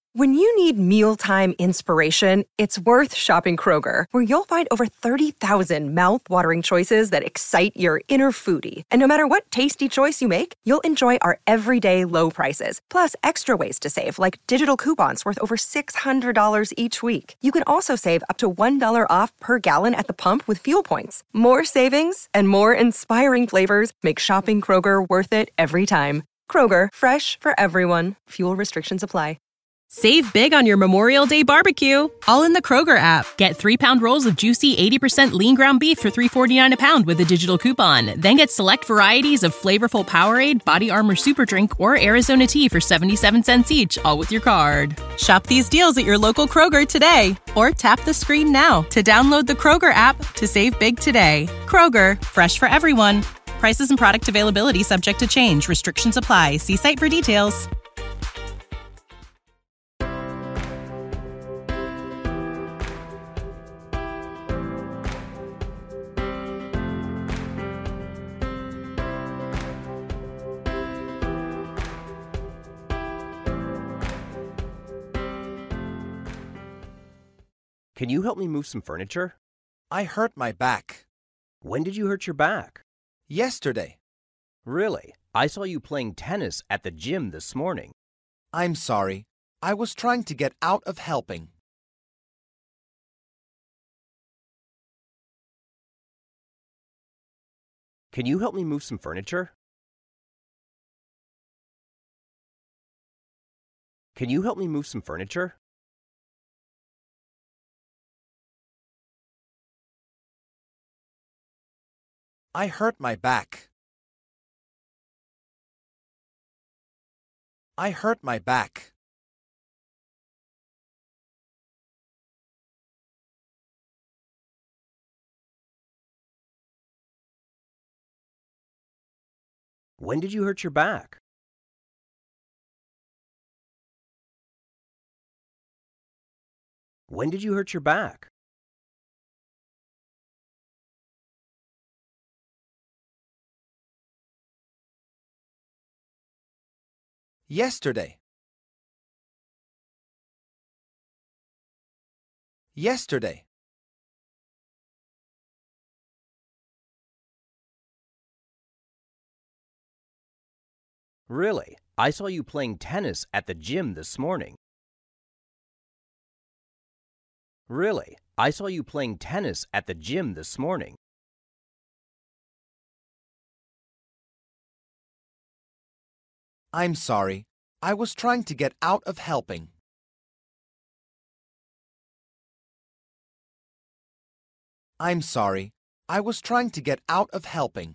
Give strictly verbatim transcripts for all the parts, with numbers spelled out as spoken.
When you need mealtime inspiration, it's worth shopping Kroger, where you'll find over thirty thousand mouth-watering choices that excite your inner foodie. And no matter what tasty choice you make, you'll enjoy our everyday low prices, plus extra ways to save, like digital coupons worth over six hundred dollars each week. You can also save up to one dollar off per gallon at the pump with fuel points. More savings and more inspiring flavors make shopping Kroger worth it every time. Kroger, fresh for everyone. Fuel restrictions apply. Save big on your Memorial Day barbecue, all in the Kroger app. Get three-pound rolls of juicy eighty percent lean ground beef for three forty-nine a pound with a digital coupon. Then get select varieties of flavorful Powerade, Body Armor Super Drink, or Arizona tea for seventy-seven cents each, all with your card. Shop these deals at your local Kroger today, or tap the screen now to download the Kroger app to save big today. Kroger, fresh for everyone. Prices and product availability subject to change. Restrictions apply. See site for details. Can you help me move some furniture? I hurt my back. When did you hurt your back? Yesterday. Really? I saw you playing tennis at the gym this morning. I'm sorry. I was trying to get out of helping. Can you help me move some furniture? Can you help me move some furniture? I hurt my back. I hurt my back. When did you hurt your back? When did you hurt your back? Yesterday. Yesterday. Really? I saw you playing tennis at the gym this morning. Really? I saw you playing tennis at the gym this morning. I'm sorry. I was trying to get out of helping. I'm sorry. I was trying to get out of helping.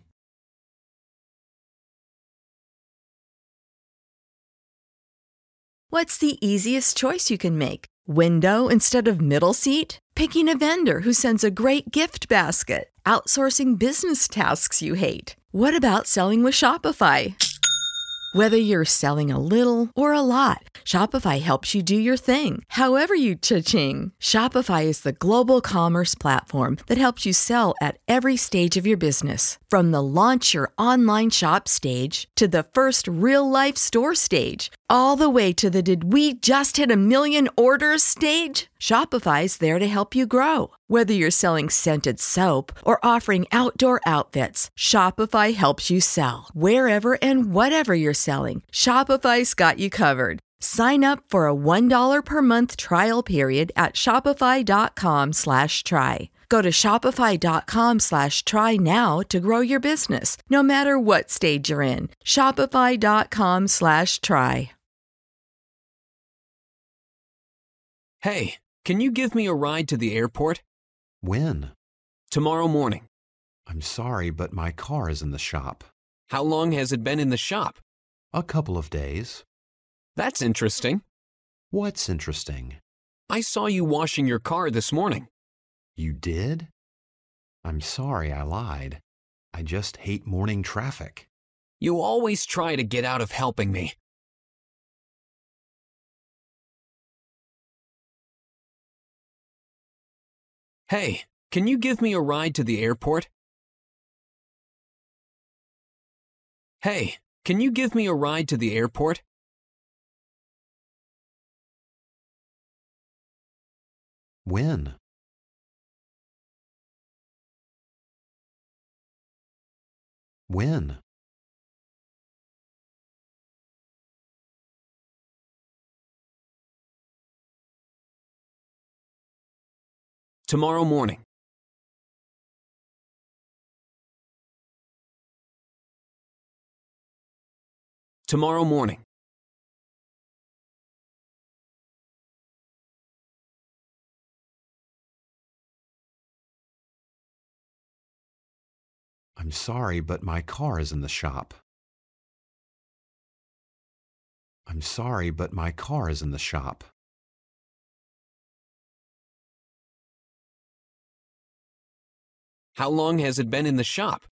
What's the easiest choice you can make? Window instead of middle seat? Picking a vendor who sends a great gift basket? Outsourcing business tasks you hate? What about selling with Shopify? Whether you're selling a little or a lot, Shopify helps you do your thing, however you cha-ching. Shopify is the global commerce platform that helps you sell at every stage of your business. From the launch your online shop stage to the first real-life store stage, all the way to the did we just hit a million orders stage. Shopify's there to help you grow. Whether you're selling scented soap or offering outdoor outfits, Shopify helps you sell. Wherever and whatever you're selling, Shopify's got you covered. Sign up for a one dollar per month trial period at shopify.com slash try. Go to shopify.com slash try now to grow your business, no matter what stage you're in. Shopify.com slash try. Hey, can you give me a ride to the airport? When? Tomorrow morning. I'm sorry, but my car is in the shop. How long has it been in the shop? A couple of days. That's interesting. What's interesting? I saw you washing your car this morning. You did? I'm sorry I lied. I just hate morning traffic. You always try to get out of helping me. Hey, can you give me a ride to the airport? Hey, can you give me a ride to the airport? When? When? Tomorrow morning. Tomorrow morning. I'm sorry, but my car is in the shop. I'm sorry, but my car is in the shop. How long has it been in the shop?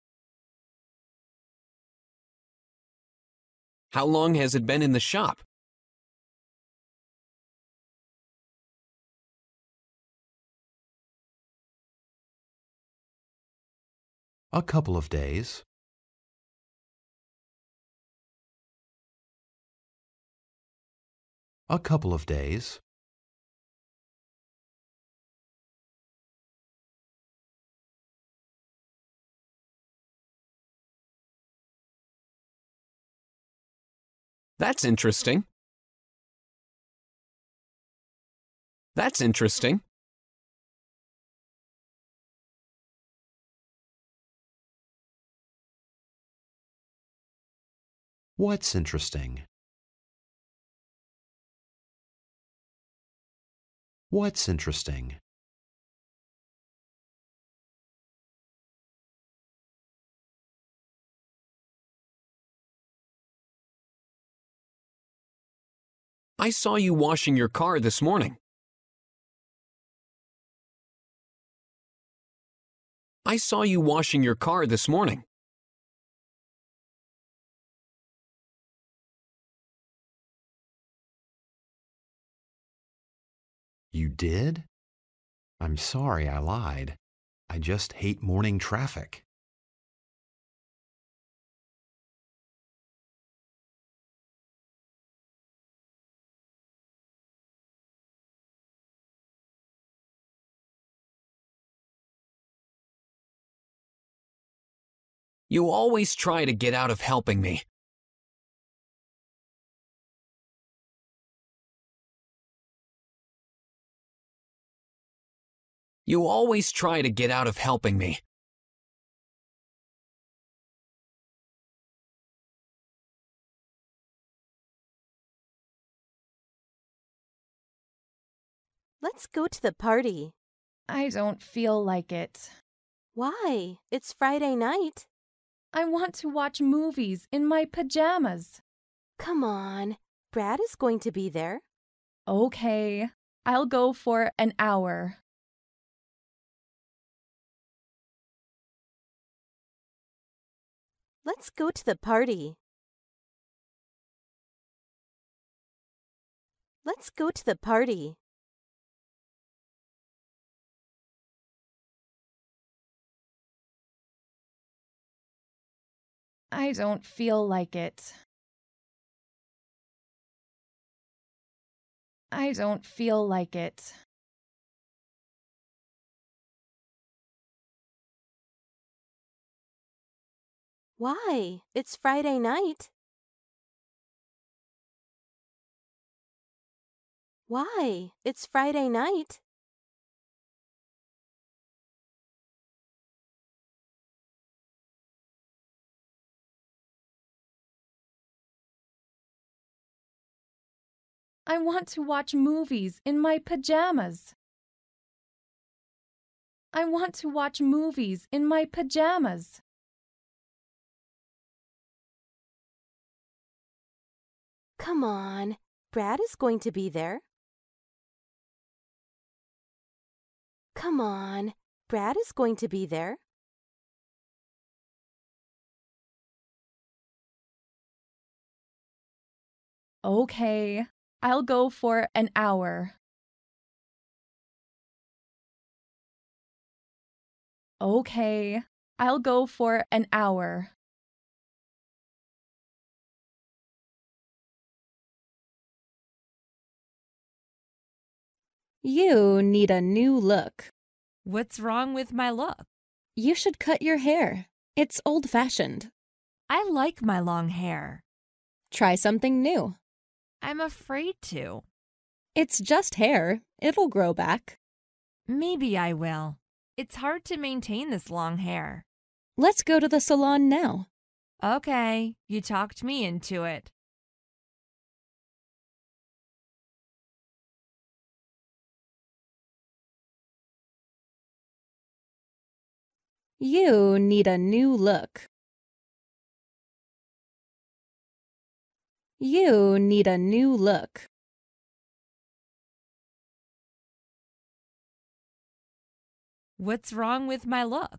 How long has it been in the shop? A couple of days. A couple of days. That's interesting. That's interesting. What's interesting? What's interesting? I saw you washing your car this morning. I saw you washing your car this morning. You did? I'm sorry I lied. I just hate morning traffic. You always try to get out of helping me. You always try to get out of helping me. Let's go to the party. I don't feel like it. Why? It's Friday night. I want to watch movies in my pajamas. Come on. Brad is going to be there. Okay, I'll go for an hour. Let's go to the party. Let's go to the party. I don't feel like it. I don't feel like it. Why? It's Friday night. Why? It's Friday night. I want to watch movies in my pajamas. I want to watch movies in my pajamas. Come on. Brad is going to be there. Come on. Brad is going to be there. Okay, I'll go for an hour. Okay, I'll go for an hour. You need a new look. What's wrong with my look? You should cut your hair. It's old-fashioned. I like my long hair. Try something new. I'm afraid to. It's just hair. It'll grow back. Maybe I will. It's hard to maintain this long hair. Let's go to the salon now. Okay, you talked me into it. You need a new look. You need a new look. What's wrong with my look?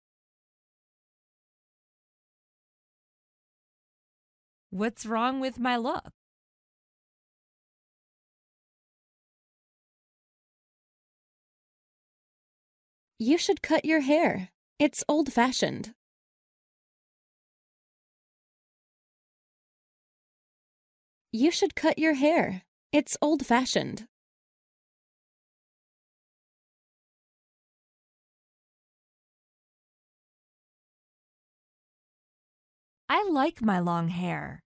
What's wrong with my look? You should cut your hair. It's old-fashioned. You should cut your hair. It's old-fashioned. I like my long hair.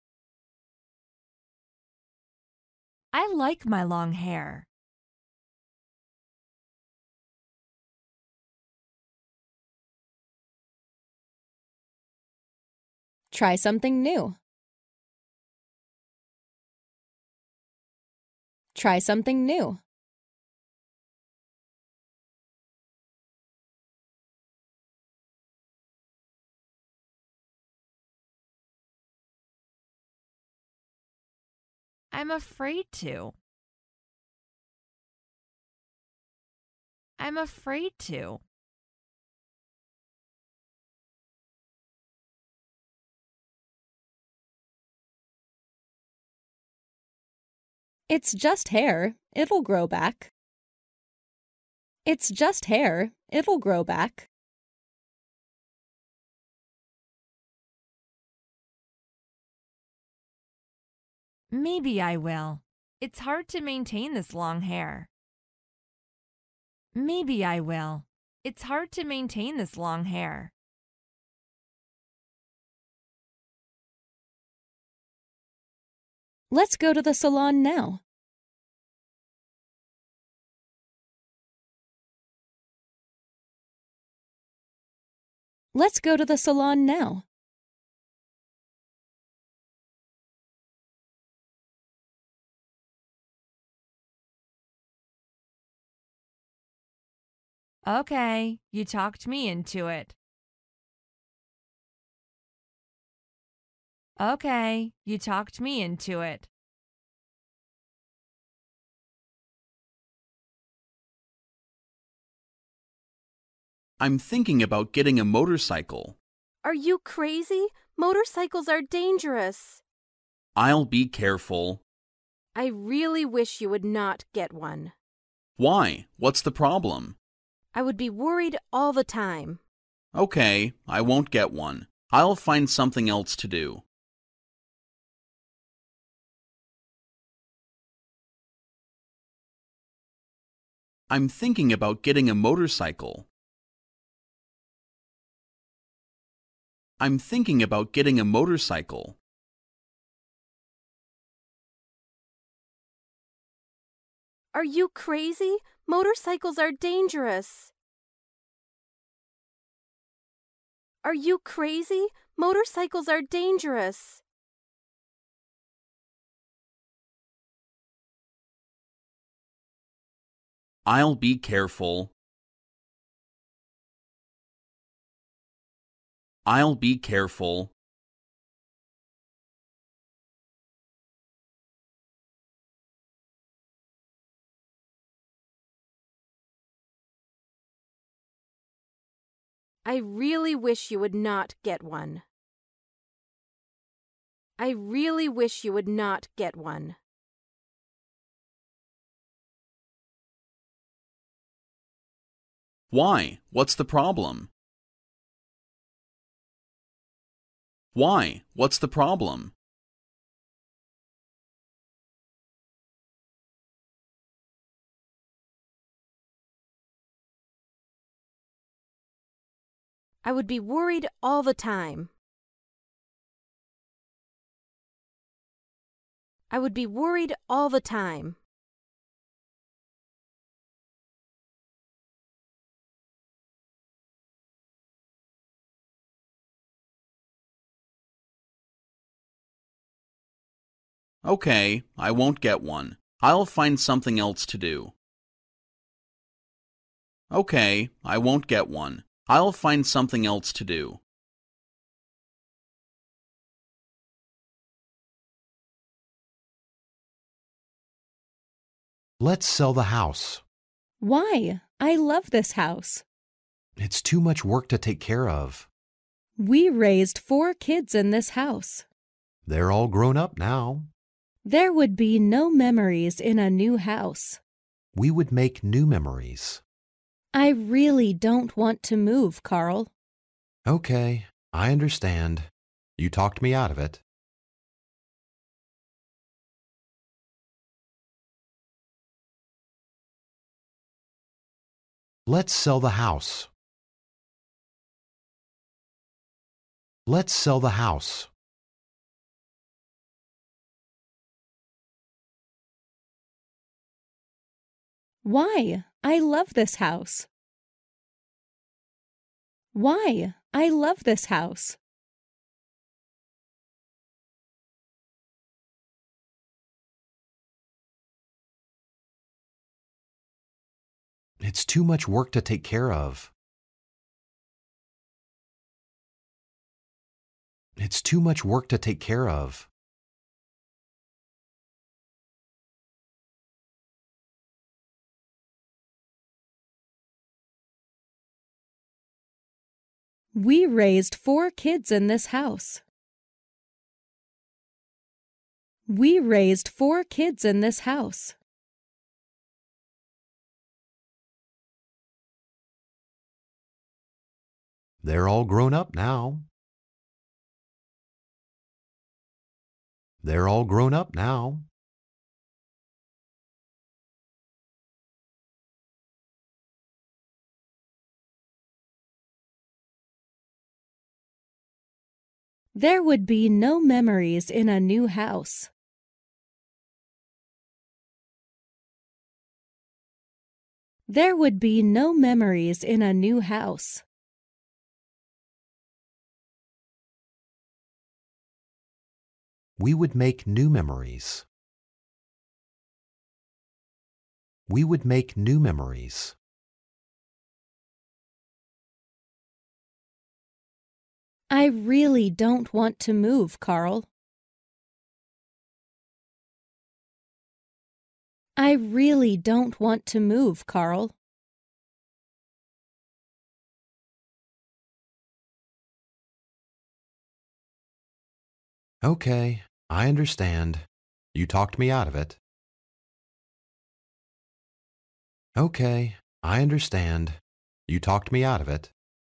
I like my long hair. Try something new. Try something new. I'm afraid to. I'm afraid to. It's just hair. It'll grow back. It's just hair. It'll grow back. Maybe I will. It's hard to maintain this long hair. Maybe I will. It's hard to maintain this long hair. Let's go to the salon now. Let's go to the salon now. Okay, you talked me into it. Okay, you talked me into it. I'm thinking about getting a motorcycle. Are you crazy? Motorcycles are dangerous. I'll be careful. I really wish you would not get one. Why? What's the problem? I would be worried all the time. Okay, I won't get one. I'll find something else to do. I'm thinking about getting a motorcycle. I'm thinking about getting a motorcycle. Are you crazy? Motorcycles are dangerous. Are you crazy? Motorcycles are dangerous. I'll be careful. I'll be careful. I really wish you would not get one. I really wish you would not get one. Why? What's the problem? Why? What's the problem? I would be worried all the time. I would be worried all the time. Okay, I won't get one. I'll find something else to do. Okay, I won't get one. I'll find something else to do. Let's sell the house. Why? I love this house. It's too much work to take care of. We raised four kids in this house. They're all grown up now. There would be no memories in a new house. We would make new memories. I really don't want to move, Carl. Okay, I understand. You talked me out of it. Let's sell the house. Let's sell the house. Why? I love this house. Why? I love this house. It's too much work to take care of. It's too much work to take care of. We raised four kids in this house. We raised four kids in this house. They're all grown up now. They're all grown up now. There would be no memories in a new house. There would be no memories in a new house. We would make new memories. We would make new memories. I really don't want to move, Carl. I really don't want to move, Carl. Okay, I understand. You talked me out of it. Okay, I understand. You talked me out of it.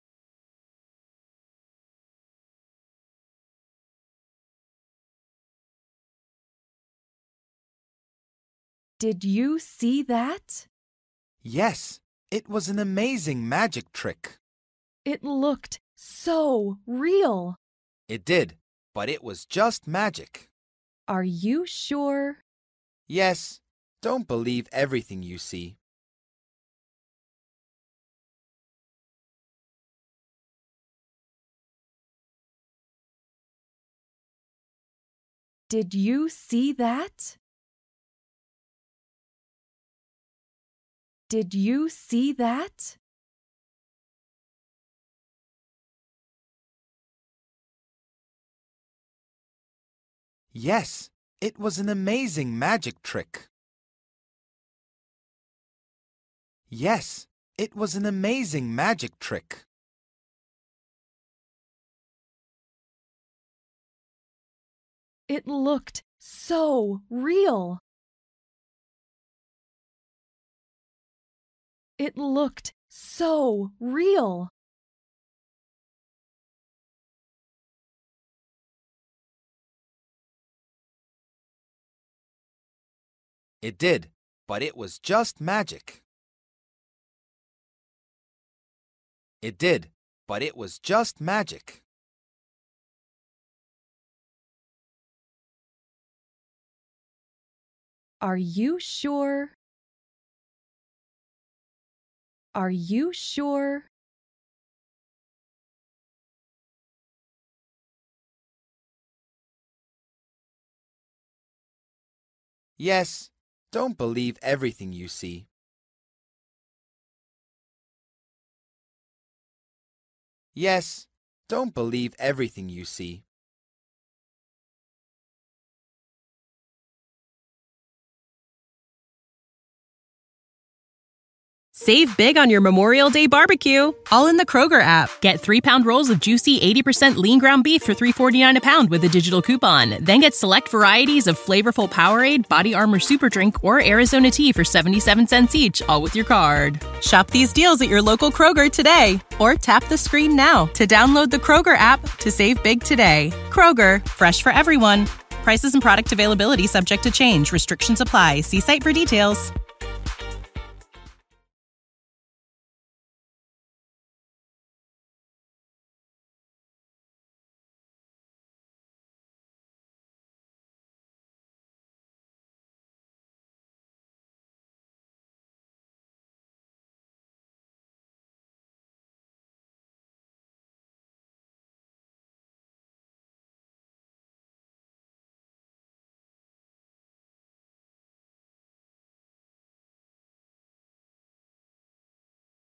Did you see that? Yes, it was an amazing magic trick. It looked so real. It did, but it was just magic. Are you sure? Yes, don't believe everything you see. Did you see that? Did you see that? Yes, it was an amazing magic trick. Yes, it was an amazing magic trick. It looked so real. It looked so real. It did, but it was just magic. It did, but it was just magic. Are you sure? Are you sure? Yes, don't believe everything you see. Yes, don't believe everything you see. Save big on your Memorial Day barbecue, all in the Kroger app. Get three-pound rolls of juicy eighty percent lean ground beef for three forty-nine a pound with a digital coupon. Then get select varieties of flavorful Powerade, Body Armor Super Drink, or Arizona tea for seventy-seven cents each, all with your card. Shop these deals at your local Kroger today, or tap the screen now to download the Kroger app to save big today. Kroger, fresh for everyone. Prices and product availability subject to change. Restrictions apply. See site for details.